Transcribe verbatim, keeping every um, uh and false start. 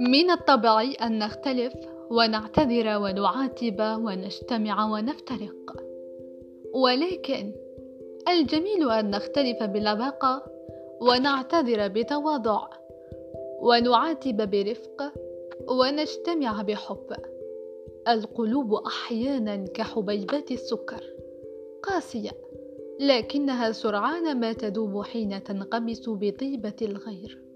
من الطبيعي أن نختلف ونعتذر ونعاتب ونجتمع ونفترق، ولكن الجميل أن نختلف بلباقة ونعتذر بتواضع ونعاتب برفق ونجتمع بحب. القلوب أحيانا كحبيبات السكر، قاسية لكنها سرعان ما تذوب حين تنغمس بطيبة الغير.